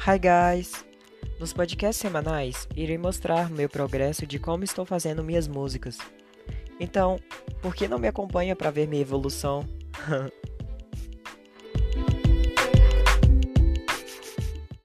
Hi guys! Nos podcasts semanais, irei mostrar meu progresso de como estou fazendo minhas músicas. Então, por que não me acompanha para ver minha evolução?